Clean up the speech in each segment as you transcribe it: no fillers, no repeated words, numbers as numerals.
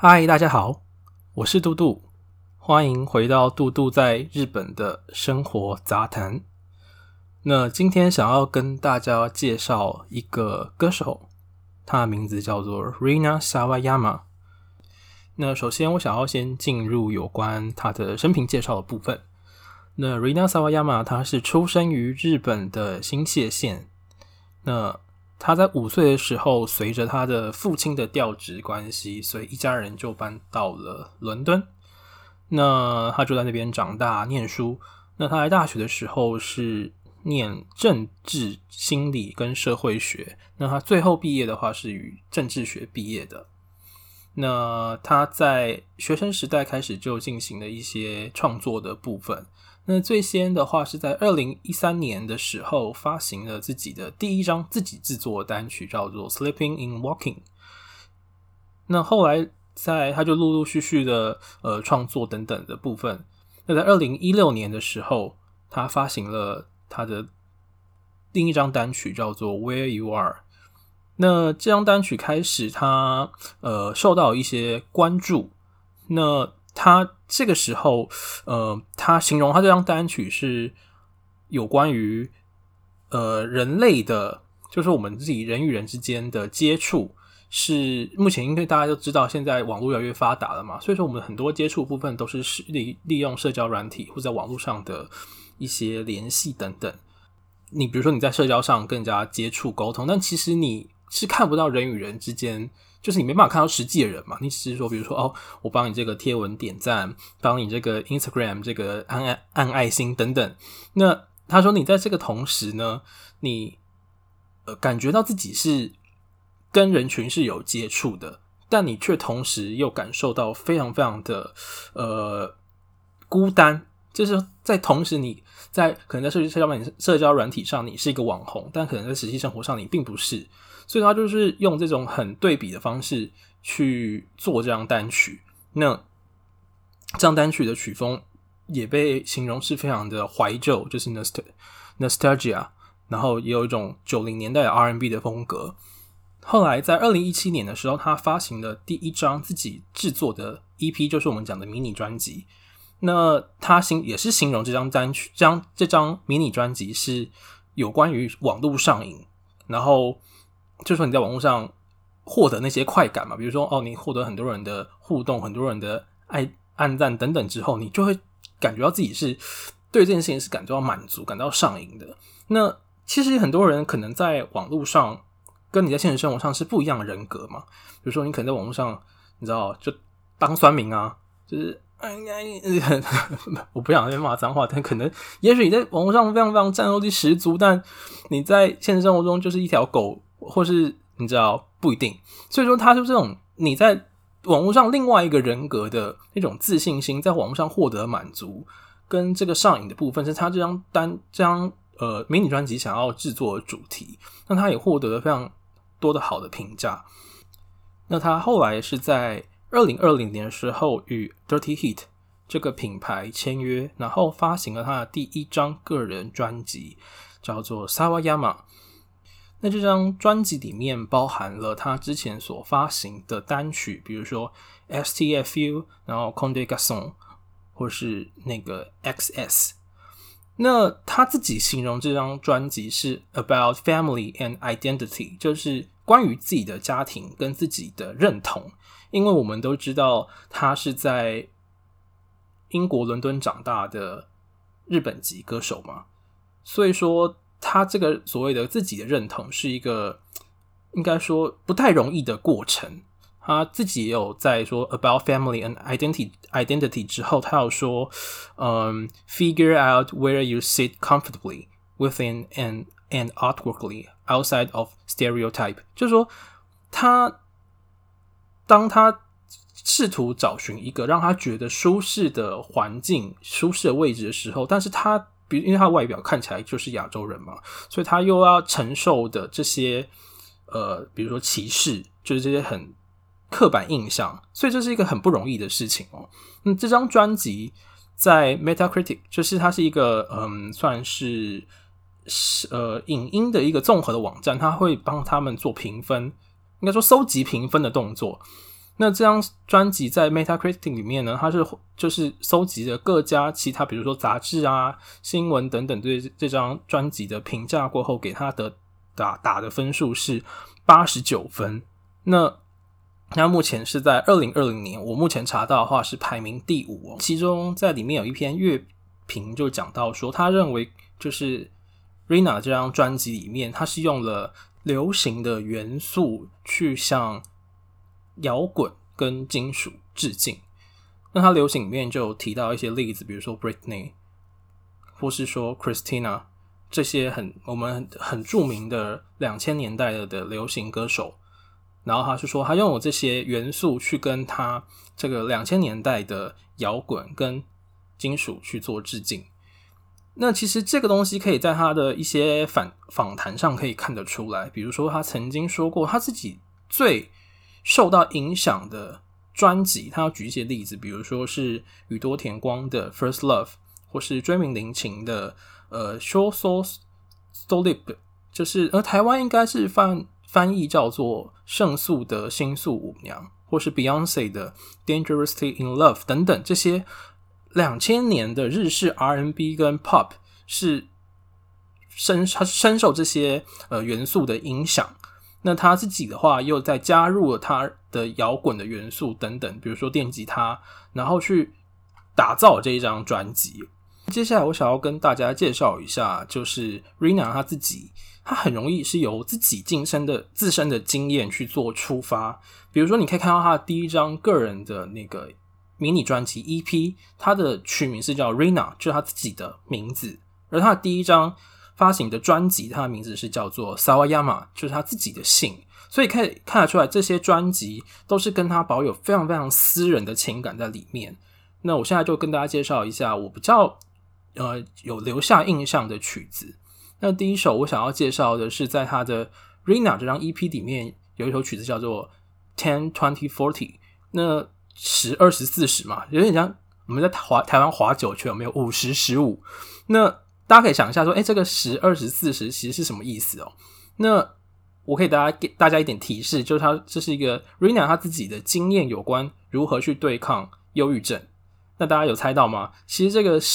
嗨，大家好，我是杜杜，歡迎回到杜杜在日本的生活雜談。那今天想要跟大家介紹一個歌手，他的名字叫做 Rina Sawayama。那首先我想要先進入有關他的生平介紹的部分。那 Rina Sawayama 他是出生於日本的新潟縣。那他在5歲的時候，隨着他的父親的調職關係，所以一家人就搬到了倫敦。那他就在那邊長大念書。那他在大學的時候是念政治、心理跟社會學。那他最後畢業的話是以政治學畢業的。那他在學生時代開始就進行了一些創作的部分。那最先的話是在2013年的時候發行了自己的第一張自己製作的單曲，叫做 Sleeping in Walking。 那後來他就陸陸續續的創作等等的部分。那在2016年的時候，他發行了他的另一張單曲，叫做 Where You Are。 那這張單曲開始他受到一些關注。那他這個時候他形容他這張單曲是有關於人類的，就是我們自己人與人之間的接觸，是目前因為大家都知道現在網絡越來越發達了嘛，所以說我們很多接觸部分都是利用社交軟體或者在網絡上的一些聯繫等等。你比如說你在社交上跟人家接觸溝通，但其實你是看不到人與人之間，就是你沒辦法看到實際的人嘛，你只是說比如說我幫你這個貼文點讚，幫你這個 Instagram 這個按愛心等等。那他說你在這個同時呢，你感覺到自己是跟人群是有接觸的，但你卻同時又感受到非常非常的孤單。就是在同時你可能在社交軟體上你是一個網紅，但可能在實際生活上你並不是。所以他就是用這種很對比的方式去做這張單曲。那這張單曲的曲風也被形容是非常的懷舊，就是 nostalgia， 然後也有一種90年代的 R&B 的風格。後來在2017年的時候，他發行了第一張自己制作的 EP， 就是我們講的迷你專輯。那他也是形容這張單曲，這張迷你專輯是有關於網絡上癮，然後就是說你在網絡上獲得那些快感嘛，比如說你獲得很多人的互動，很多人的按讚等等之後，你就會感覺到自己是對這件事情是感到滿足、感到上癮的。那其實很多人可能在網絡上跟你在現實生活上是不一樣的人格嘛，比如說你可能在網絡上，你知道就當酸民啊，就是我不想再罵髒話，但可能也許你在網絡上非常非常戰鬥力十足，但你在現實生活中就是一條狗，或是你知道不一定。所以說他就這種你在網絡上另外一個人格的那種自信心，在網絡上獲得滿足跟這個上癮的部分，是他這張迷你專輯想要制作的主題。那他也獲得了非常多的好的評價。那他後來是在2020年的時候與 Dirty Hit 這個品牌簽約，然後發行了他的第一張個人專輯，叫做 Sawayama。 那這張專輯裡面包含了他之前所發行的單曲，比如說 STFU， 然後 Comme des Garçons， 或是那個 XS。 那他自己形容這張專輯是 about family and identity， 就是關於自己的家庭跟自己的認同。因為我們都知道他是在英國倫敦長大的日本籍歌手嘛，所以說他這個所謂的自己的認同是一個應該說不太容易的過程。他自己也有在說 about family and identity 之後，他有說figure out where you sit comfortably within and outwardly outside of stereotype， 就是說當他試圖找尋一個讓他覺得舒適的環境、舒適的位置的時候，但是因為他外表看起来就是亞洲人嘛，所以他又要承受的這些比如說歧視，就是這些很刻板印象，所以這是一個很不容易的事情哦。這張專輯在 Metacritic， 就是它是一個算是影音的一個綜合的網站，它會幫他們做評分，應該說搜集評分的動作。 那這張專輯在 Metacritic 裡面呢，它就是蒐集了各家其他，比如說雜誌啊、新聞等等對這張專輯的評價過後，給它的打的分數是89分。那目前是在2020年，我目前查到的話是排名第5哦。其中在裡面有一篇樂評就講到說，他認為就是 Rihanna 這張專輯裡面，它是用了流行的元素去向搖滾跟金屬致敬。那它流行裡面就有提到一些例子，比如說 Britney 或是說 Christina 這些我們很著名的2000年代的流行歌手。然後他是說他用了這些元素去跟他這個2000年代的搖滾跟金屬去做致敬。那其實這個東西可以在他的一些訪談上可以看得出來，比如說他曾經說過他自己最受到影響的專輯，他要舉一些例子，比如說是宇多田光的 First Love， 或是椎名林檎的Show So Solid， 就是台灣應該是翻譯叫做勝訴的新宿舞娘，或是 Beyoncé 的 Dangerously in Love 等等，這些2000年的日式 R&B 跟 Pop 是深受這些元素的影響。那他自己的話又再加入了他的搖滾的元素等等，比如說電吉他，然後去打造這一張專輯。接下來我想要跟大家介紹一下，就是 Rihanna 他自己，他很容易是由自己自身的經驗去做出發。比如說你可以看到他的第一張個人的那個迷你專輯 EP， 他的取名是叫 Rihanna， 就是他自己的名字。而他的第一張發行的專輯，他的名字是叫做 Sawayama， 就是他自己的姓。所以可以看得出來，這些專輯都是跟他保有非常非常私人的情感在裡面。那我現在就跟大家介紹一下我比較有留下印象的曲子。那第一首我想要介紹的是在他的 Rihanna 这張 EP 裡面有一首曲子叫做 10-20-40， 那10、20、40嘛，有點像我們在台灣滑九圈有沒有50、15，那大家可以想一下說這個10、20、40其實是什麼意思哦？那我可以給大家一點提示，就是這是一個 Rihanna 他自己的經驗有關如何去对抗憂鬱症。那大家有猜到嗎？其實這個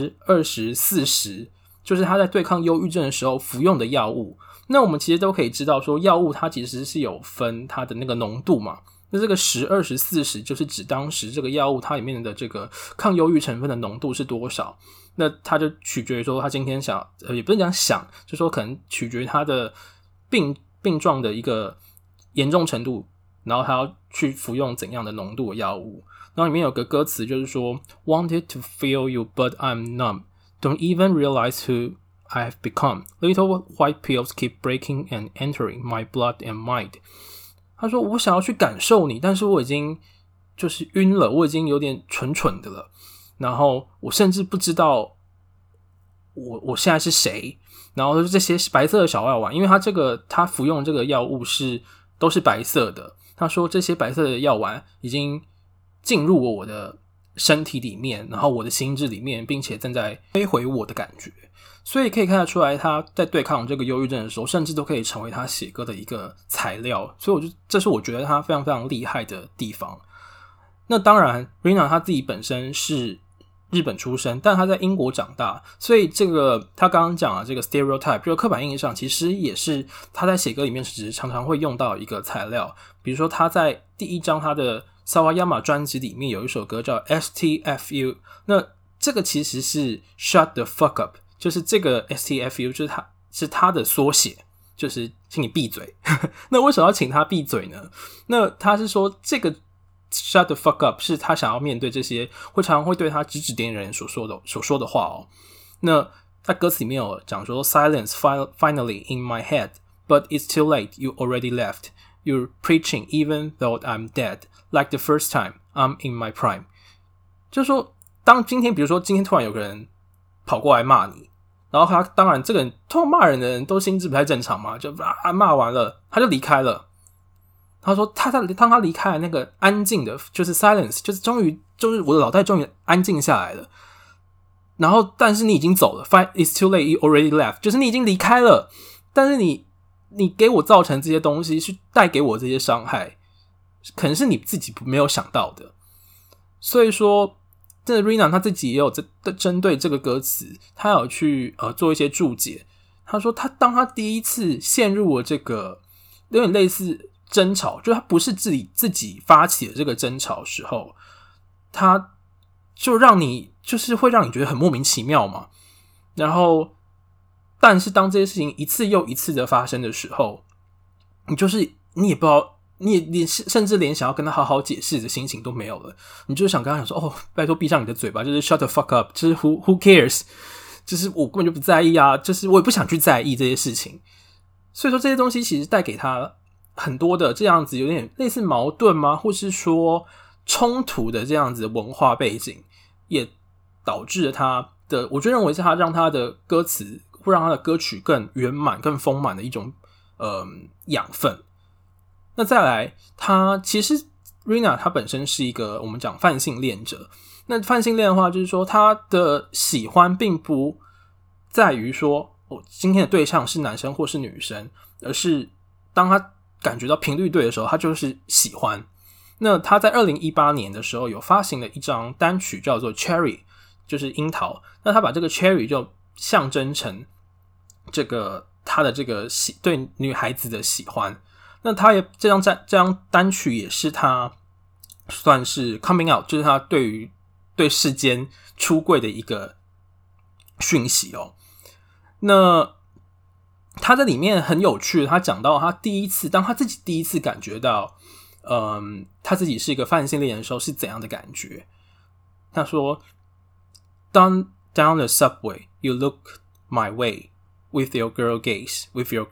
10、20、40就是他在对抗憂鬱症的時候服用的藥物。那我們其實都可以知道說，藥物它其實是有分它的那個濃度嘛。那這個10、20、40就是指當時這個藥物它裡面的這個抗憂鬱成分的濃度是多少。那它就取決於說他今天也不是講想，就說可能取決於他的病狀的一個嚴重程度，然後他要去服用怎樣的濃度的藥物。然後裡面有個歌詞就是說 Wanted to feel you but I'm numb, don't even realize who I've become, little white pills keep breaking and entering my blood and mind。 他說我想要去感受你，但是我已經就是暈了，我已經有點蠢蠢的了，然後我甚至不知道我現在是誰。然後這些白色的小药丸，因为他服用这個藥物都是白色的，他說這些白色的藥丸已經進入我的身體裡面，然後我的心智裡面，並且正在摧毀我的感覺。所以可以看得出來，他在對抗這個憂鬱症的時候，甚至都可以成為他寫歌的一個材料。所以這是我覺得他非常非常厲害的地方。那當然 Rihanna 他自己本身是日本出生，但他在英國長大，所以這個他剛剛講的這個 stereotype 這個刻板印象，其實也是他在寫歌裡面其實常常會用到一個材料。比如說他在第一張他的 Sawayama 專輯裡面有一首歌叫 STFU， 那這個其實是 Shut the fuck up， 就是這個 STFU 就是他的縮寫，就是請你閉嘴。那為什麼要請他閉嘴呢？那他是說這個Shut the fuck up 是他想要面對這些常常會對他指指點點人所說的話哦。那他歌詞裡面有講說 Silence finally in my head, but it's too late, you already left. You're preaching even though I'm dead, like the first time I'm in my prime. 就是說比如說今天突然有個人跑過來罵你，然後他當然這個人通常罵人的人都心智不太正常嘛，就罵完了他就離開了。他說當他離開了那個安靜的，就是 silence， 就是終於就是我的腦袋終於安靜下來了。然後但是你已經走了 ，It's too late, you already left， 就是你已經離開了，但是你給我造成這些東西，去帶給我這些傷害， 可能是你自己沒有想到的。所以說，這 Rihanna 他自己也有針對這個歌詞，他有去做一些注解。他說當他第一次陷入了這個有點類似爭吵，就他不是自己發起的這個爭吵的時候，他就就是會讓你覺得很莫名其妙嘛。然後，但是當這些事情一次又一次的發生的時候，你也不知道，你甚至連想要跟他好好解釋的心情都沒有了。你就是想跟他講說，哦，拜託閉上你的嘴巴，就是 shut the fuck up， 就是 who cares， 就是我根本就不在意啊，就是我也不想去在意這些事情。所以說這些東西其實帶給他很多的這樣子有點類似矛盾嗎？或是說衝突的這樣子的文化背景，也導致了他的，我就認為是他讓他的歌詞會讓他的歌曲更圓滿、更豐滿的一種養分。那再來，他其實 Rihanna 他本身是一個我們講泛性戀者。那泛性戀的話，就是說他的喜歡並不在於說今天的對象是男生或是女生，而是當他感覺到頻率對的時候，他就是喜歡。那他在2018年的時候有發行了一張單曲叫做 Cherry， 就是櫻桃。那他把這個 Cherry 就象徵成這個他的這個對女孩子的喜歡。那他也這張單曲也是他算是 coming out， 就是他對世間出櫃的一個訊息哦。那他在裡面很有趣，他講到當他自己第一次感覺到他自己是一個泛性戀的時候是怎樣的感覺。他說 Down the subway, you look my way with your girl gaze.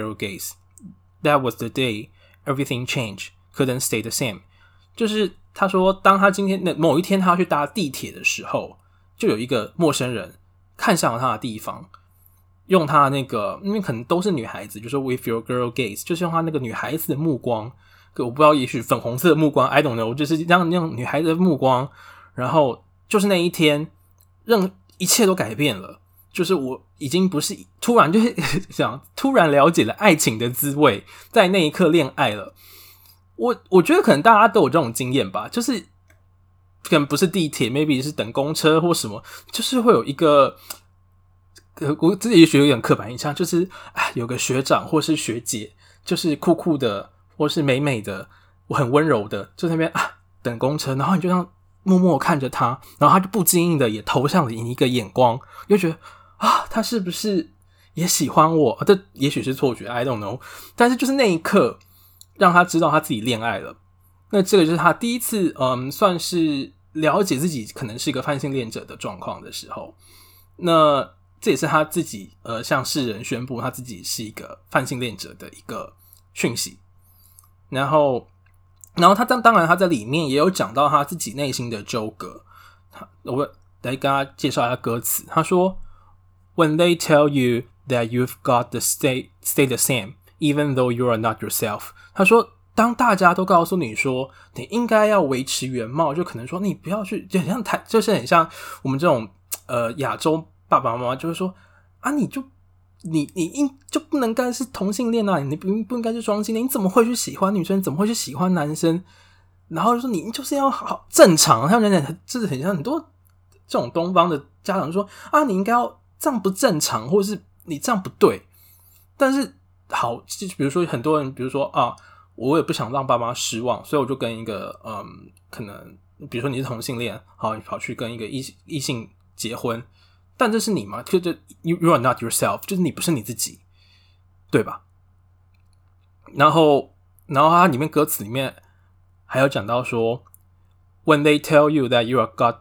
That was the day everything changed, couldn't stay the same. 就是他說當他今天的某一天他要去搭地鐵的時候，就有一個陌生人看向了他的地方，用他那個因為可能都是女孩子，就是 with your girl gaze， 就是用他那個女孩子的目光，我不知道也許粉紅色的目光 I don't know， 就是讓女孩子的目光，然後就是那一天讓一切都改變了。就是我已經不是突然就是想突然了解了愛情的滋味，在那一刻戀愛了。我覺得可能大家都有這種經驗吧，就是可能不是地鐵 maybe 是等公車或什麼，就是會有一個我自己也許有點刻板印象，就是有個學長或是學姐，就是酷酷的或是美美的，我很溫柔的就在那邊等公車，然後你就這樣默默看着他，然後他就不經意的也投向了你一個眼光，就覺得他是不是也喜歡我？這也許是錯覺 I don't know， 但是就是那一刻讓他知道他自己戀愛了。那這個就是他第一次算是了解自己可能是一個泛性戀者的狀況的時候。那這也是他自己向世人宣布他自己是一個泛性戀者的一個訊息。然後他當然他在裡面也有講到他自己內心的糾葛。我來跟他介紹一下歌詞。他說When they tell you that you've got to stay the same, even though you are not yourself. 他說，當大家都告訴你說你應該要維持原貌，就可能說你不要去，就是很像我們這種亞洲爸爸媽媽就會說你就不能該是同性戀啊，你不應該是雙性戀，你怎麼會去喜歡女生？怎麼會去喜歡男生？然後就說你就是要好正常。他們講就是很像很多這種東方的家長說你應該要。這樣不正常，或是你這樣不對。但是好，比如說很多人，比如說我也不想讓爸媽失望，所以我就跟一個可能比如說你是同性戀，好，你跑去跟一個異性結婚，但這是你嗎？就 you are not yourself， 就是你不是你自己，對吧？然後它裡面歌詞裡面還有講到說 ，When they tell you that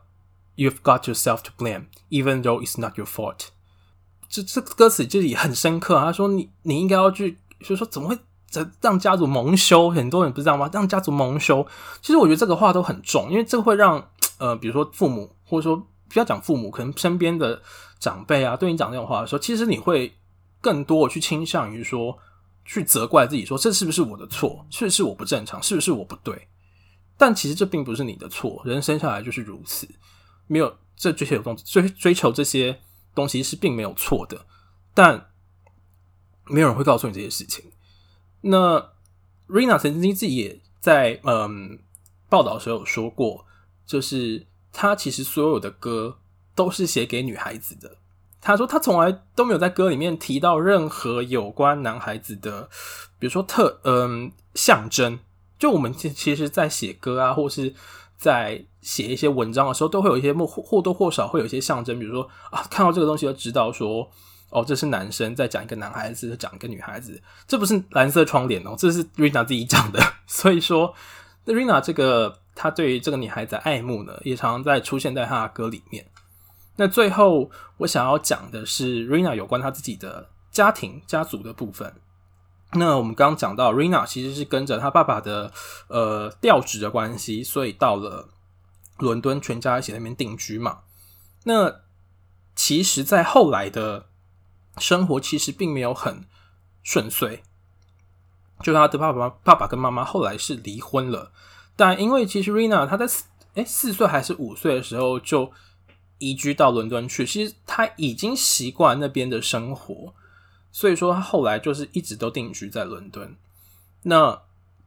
you've got yourself to blame, even though it's not your fault. 這歌詞就也很深刻。他說你應該要去，就是說怎麼會讓家族蒙羞？很多人不知道嗎？讓家族蒙羞。其實我覺得這個話都很重，因為這個會讓比如說父母，或者說不要講父母，可能身邊的長輩對你講這種話的時候，其實你會更多的去傾向於說，去責怪自己說，這是不是我的錯？是不是我不正常？是不是我不對？但其實這並不是你的錯，人生下來就是如此。沒有追求這些東西是並沒有錯的，但沒有人會告訴你這些事情。那 Rihanna 曾經自己也在報道的時候有說過，就是他其實所有的歌都是寫給女孩子的。他說他從來都沒有在歌裡面提到任何有關男孩子的，比如說象徵。就我們其實在寫歌啊，或是在寫一些文章的時候，都會有一些或多或少會有一些象徵，比如說啊，看到這個東西就知道說，哦，這是男生在講一個男孩子，講一個女孩子，這不是藍色窗簾哦，這是 Rihanna 自己講的。所以說 Rihanna 這個他對於這個女孩子的愛慕呢，也常常在出現在他的歌裡面。那最後我想要講的是 Rihanna 有關他自己的家族的部分。那我們剛剛講到 Rihanna 其實是跟着他爸爸的調職的關係，所以到了倫敦，全家一起在那邊定居嘛。那其實在後來的生活其實並沒有很順遂，就他的爸爸跟媽媽後來是離婚了，但因為其實 Rihanna 他在4歲還是5歲的時候就移居到倫敦去，其實他已經習慣那邊的生活，所以說他後來就是一直都定居在倫敦。那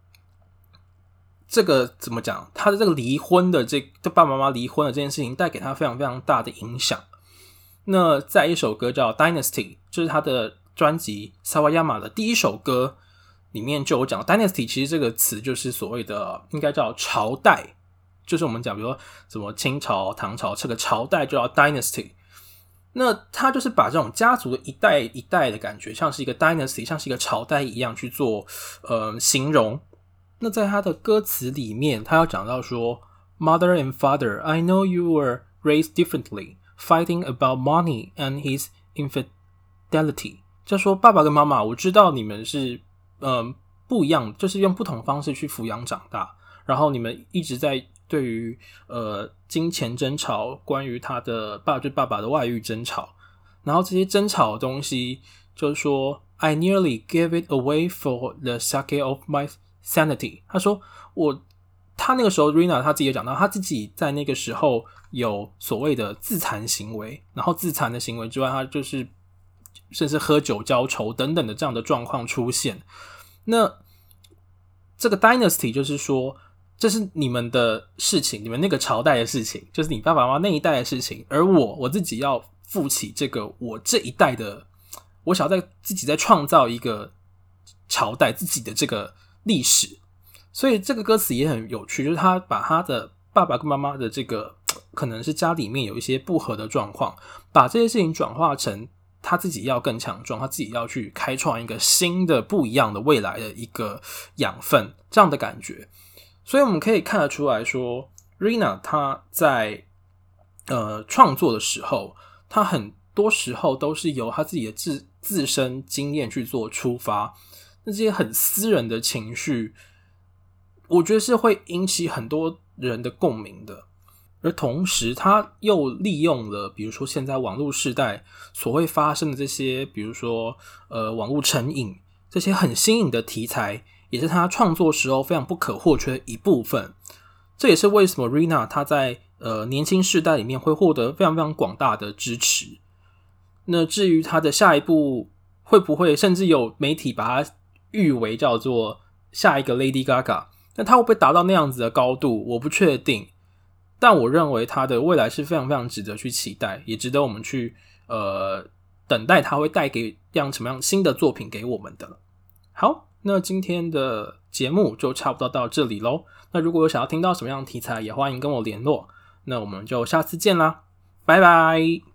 這個怎麼講？他的這個離婚的爸爸媽媽離婚的這件事情帶給他非常非常大的影響。那在一首歌叫 Dynasty， 就是他的專輯 Sawayama 的第一首歌裡面就有講 Dynasty， 其實這個詞就是所謂的應該叫朝代，就是我們講比如說什麼清朝、唐朝這個朝代就叫 Dynasty。那他就是把這種家族的一代一代的感覺，像是一個 Dynasty， 像是一個朝代一樣去做形容。那在他的歌詞裡面，他要講到說 Mother and father, I know you were raised differently, fighting about money and his infidelity。 就說爸爸跟媽媽，我知道你們是不一樣，就是用不同方式去撫養長大，然後你們一直在對於金錢爭吵，關於他的爸爸的外遇爭吵，然後這些爭吵的東西就是說 I nearly gave it away for the sake of my sanity。 他說他那個時候 Rihanna 他自己也講到，他自己在那個時候有所謂的自殘行為，然後自殘的行為之外，他就是甚至喝酒澆愁等等的這樣的狀況出現。那這個 Dynasty 就是說，這是你們的事情，你們那個朝代的事情，就是你爸爸媽媽那一代的事情，而我自己要負起這個我這一代的，我想要自己再創造一個朝代，自己的這個歷史。所以這個歌詞也很有趣，就是他把他的爸爸跟媽媽的這個可能是家裡面有一些不合的狀況，把這些事情轉化成他自己要更強壯，他自己要去開創一個新的不一樣的未來的一個養分，這樣的感覺。所以我們可以看得出來說 Rihanna 他在創作的時候，他很多時候都是由他自己的自身經驗去做出發，那這些很私人的情緒，我覺得是會引起很多人的共鳴的。而同時他又利用了比如說現在網絡時代所會發生的這些，比如說網絡成癮，這些很新穎的題材，也是他創作時候非常不可或缺的一部分。這也是為什麼 Rihanna 他在年輕世代裡面會獲得非常非常廣大的支持。那至於他的下一步會不會，甚至有媒體把他譽為叫做下一個 Lady Gaga， 那他會不會達到那樣子的高度，我不確定。但我認為他的未來是非常非常值得去期待，也值得我們去等待他會帶給什麼樣新的作品給我們的。好，那今天的節目就差不多到這裡咯。那如果有想要聽到什麼樣的題材，也歡迎跟我聯絡。那我們就下次見啦，拜拜。